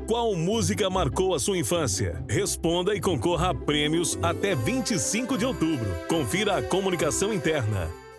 Qual música marcou a sua infância? Responda e concorra a prêmios até 25 de outubro. Confira a comunicação interna.